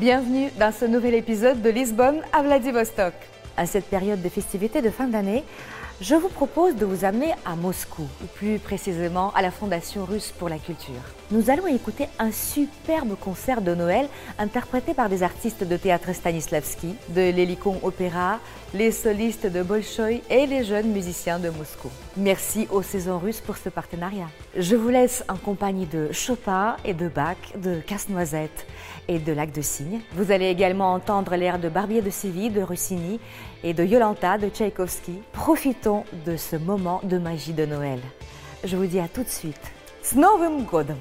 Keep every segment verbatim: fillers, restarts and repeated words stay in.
Bienvenue dans ce nouvel épisode de Lisbonne à Vladivostok. À cette période de festivités de fin d'année, je vous propose de vous amener à Moscou, ou plus précisément à la Fondation russe pour la culture. Nous allons écouter un superbe concert de Noël interprété par des artistes de théâtre Stanislavski, de l'Hélicon Opéra, les solistes de Bolchoï et les jeunes musiciens de Moscou. Merci aux Saisons Russes pour ce partenariat. Je vous laisse en compagnie de Chopin et de Bach, de Casse-Noisette et de Lac de Cygne. Vous allez également entendre l'air de Barbier de Séville de Rossini et de Yolanta de Tchaïkovski. Profitons de ce moment de magie de Noël. Je vous dis à tout de suite. С Новым годом!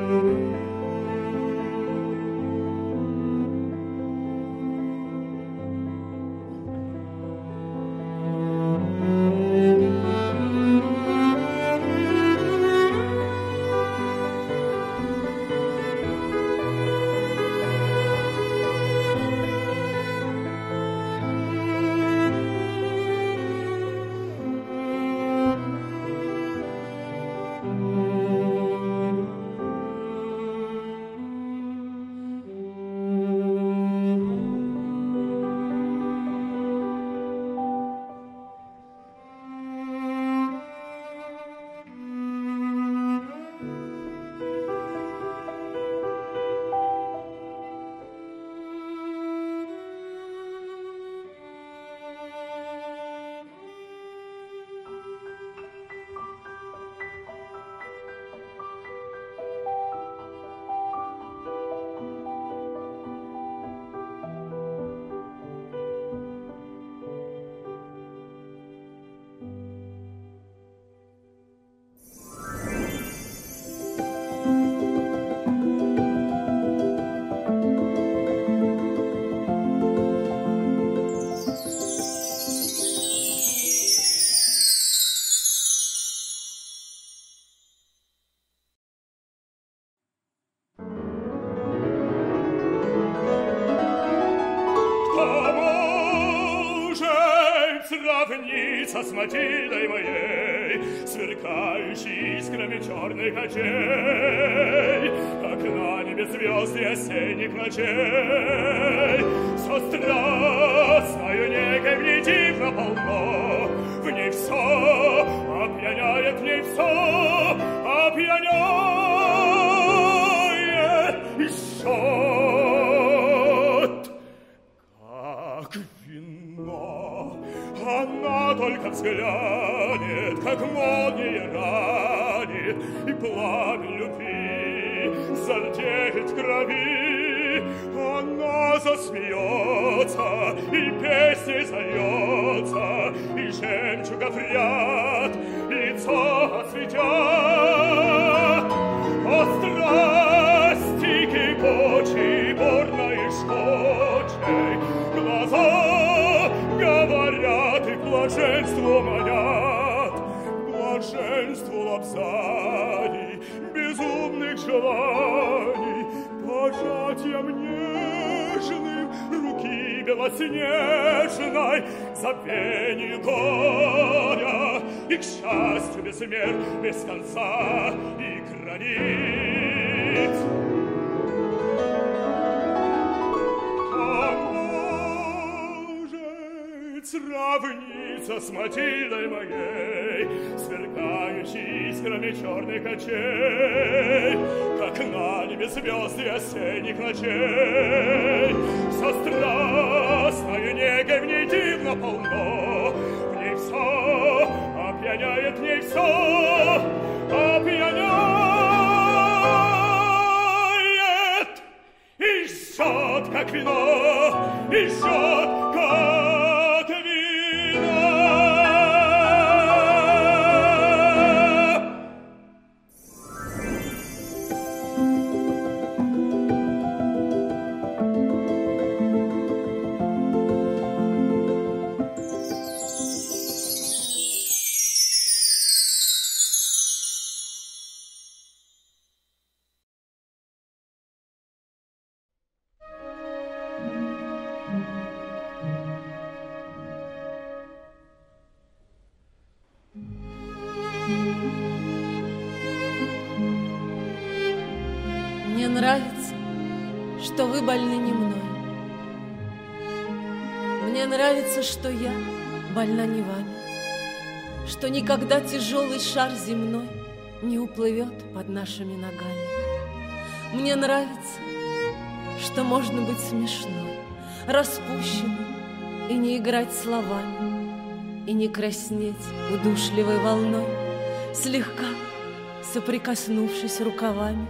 Сравнится с Матильдой моей, сверкающей искрами черных очей, как на небе звезды осенних ночей. Со страстною негой в ней тихо полно, в ней все опьяняет, в ней все опьяняет и жжет, как вино. Она только взглянет, как молния ранит, и пламя любви зардеет в крови. Она засмеется, и песни зальется, и жемчугов ряд лицо осветят. О страсти кипучей, бурной и жгучей, глаза говорят и к блаженству манят, к блаженству лапзаний, безумных желаний, пожатием нежным руки белоснежной, забвению горя и к счастью без мер, без конца и границ. Сравнится с Матильдой моей, сверкающей искрами черных очей, как на небе звезды осенних ночей. Со страстною негой в ней дивно полно, в ней все опьяняет, в ней все опьяняет и жжет, как вино, и жжет, как Мне нравится, что вы больны не мной. Мне нравится, что я больна не вами, что никогда тяжелый шар земной не уплывет под нашими ногами. Мне нравится, что можно быть смешной, распущенной и не играть словами, и не краснеть удушливой волной, слегка соприкоснувшись рукавами.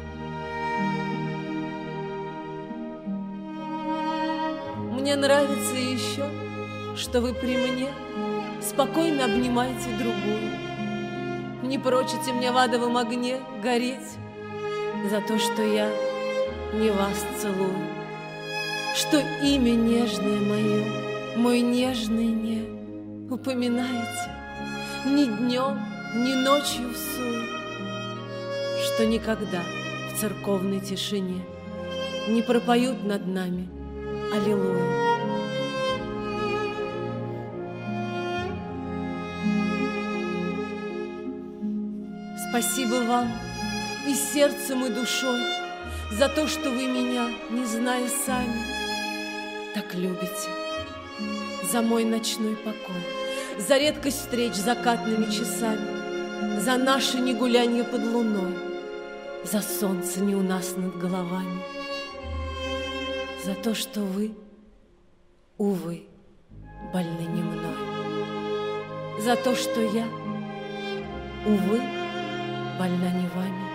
Мне нравится еще, что вы при мне спокойно обнимаете другую, не прочите мне в адовом огне гореть за то, что я не вас целую, что имя нежное мое, мой нежный не упоминаете ни днем, ни ночью в суе, что никогда в церковной тишине не пропоют над нами аллилуйя. Спасибо вам и сердцем, и душой за то, что вы меня, не зная сами, так любите. За мой ночной покой, за редкость встреч закатными часами, за наше негулянье под луной, за солнце не у нас над головами, за то, что вы, увы, больны не мной, за то, что я, увы, больна не вами.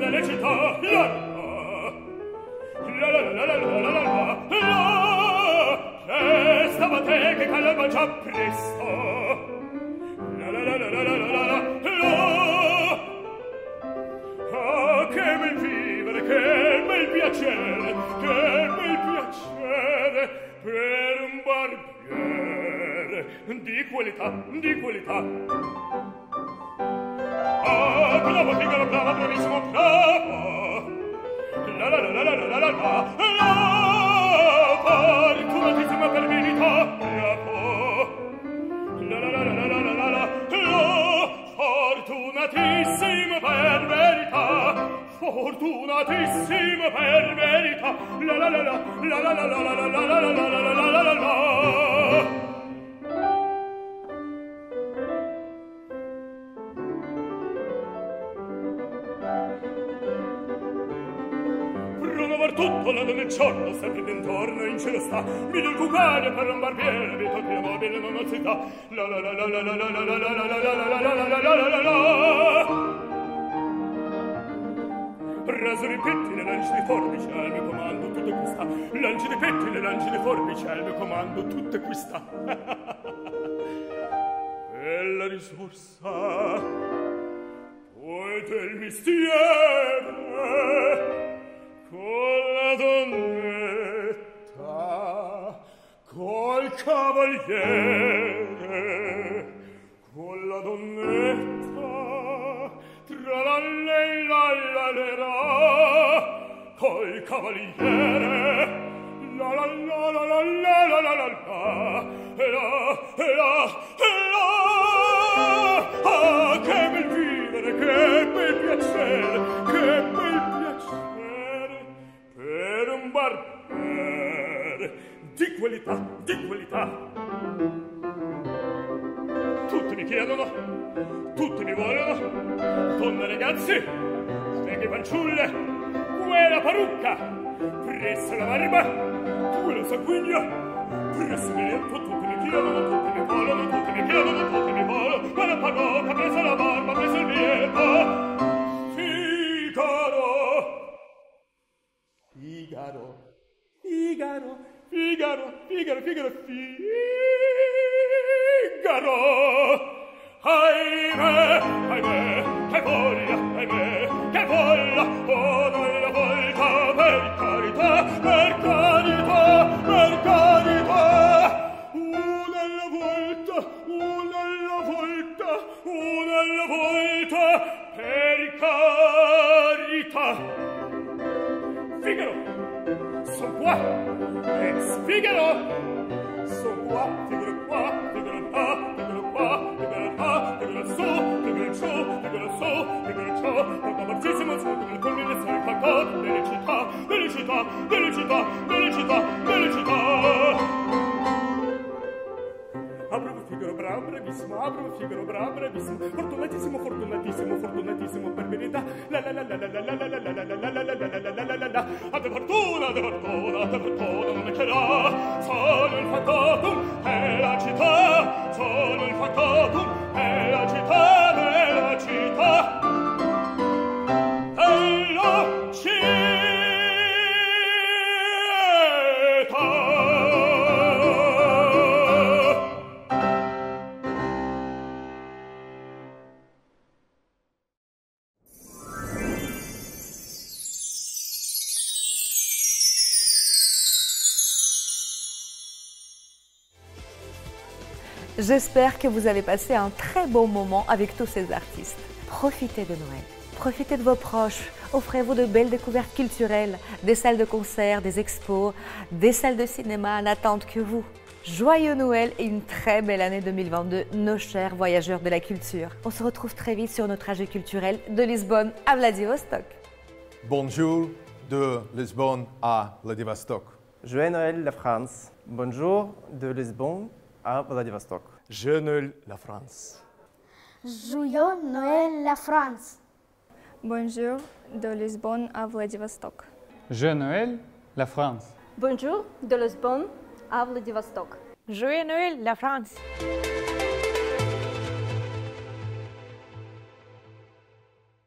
nelle città, la la la la la la la la la la che stavate che calma già presto la la la la la la la la la ah che bel vivere, che bel piacere, che bel piacere per un barbiere di qualità, di qualità. Ah, bravo, piccolo, bravo, bravissimo, bravo. La la la la la la la la la la fortunatissima per verità, bravo. La la la la la la la la la la fortunatissima per verità, fortunatissima per verità. La la la la la la la la la la la la la la la la la. Tutto l'anno nel giorno, sempre d'intorno in cielo sta, vide il cucare per un barbiere, vito che mobile non si dà. La la la la la la la la la la la la la la la la la la. Rasuri pettine, lanci di forbice, al mio comando tutto qui sta. Lanci di pettine, lanci di forbice, al mio comando tutto qui sta. Bella risorsa, poi del mestiere, con la donnetta, col cavaliere, con la donnetta, tra la lei la la la la, col cavaliere, la la la la la la la la la la, e la, e la, e la, ah, che bel vivere, che bel piacere, che bel piacere, per un barbiere di qualità, di qualità. Tutti mi chiedono, tutti mi vogliono, donne ragazzi, streghe fanciulle, quella parrucca, presso la barba, quello sanguigno, presso il letto, tutti mi chiedono, tutti mi vogliono, tutti mi chiedono, tutti mi vogliono, quella parrucca, presso la barba, presso il letto. Figaro, Figaro, Figaro, Figaro, Figaro, Figaro. Ahimè, ahimè, che voglia, ahimè, che voglia, oh nella volta, per carità, per carità, per carità. Una alla volta, una alla volta, una alla volta, per carità. Figaro, son qua, ex Figaro, son qua, Figaro qua, Figaro là, Figaro qua, Figaro là, Figaro su, Figaro giù, Figaro su, Figaro giù, porta barzissimo, sotto il culmine sei cantato, delle città, delle città, delle città, delle città, delle città. Bravo Figaro, bravo, bravissimo, bravo Figaro, bravo, bravissimo, fortunatissimo, fortunatissimo, fortunatissimo per verità. La la la la la la la la la la la la la la la la la la la. Ade fortuna, ade fortuna, ade fortuna non è che là. Sono il factotum e la città, sono il factotum e la città, e la città. E la città. J'espère que vous avez passé un très bon moment avec tous ces artistes. Profitez de Noël, profitez de vos proches, offrez-vous de belles découvertes culturelles, des salles de concert, des expos, des salles de cinéma n'attendent que vous. Joyeux Noël et une très belle année deux mille vingt-deux, nos chers voyageurs de la culture. On se retrouve très vite sur nos trajets culturels de Lisbonne à Vladivostok. Bonjour de Lisbonne à Vladivostok. Joyeux Noël la France. Bonjour de Lisbonne à Vladivostok. Joyeux Noël la France. Joyeux Noël la France. Bonjour de Lisbonne à Vladivostok. Joyeux Noël la France. Bonjour de Lisbonne à Vladivostok. Joyeux Noël la France.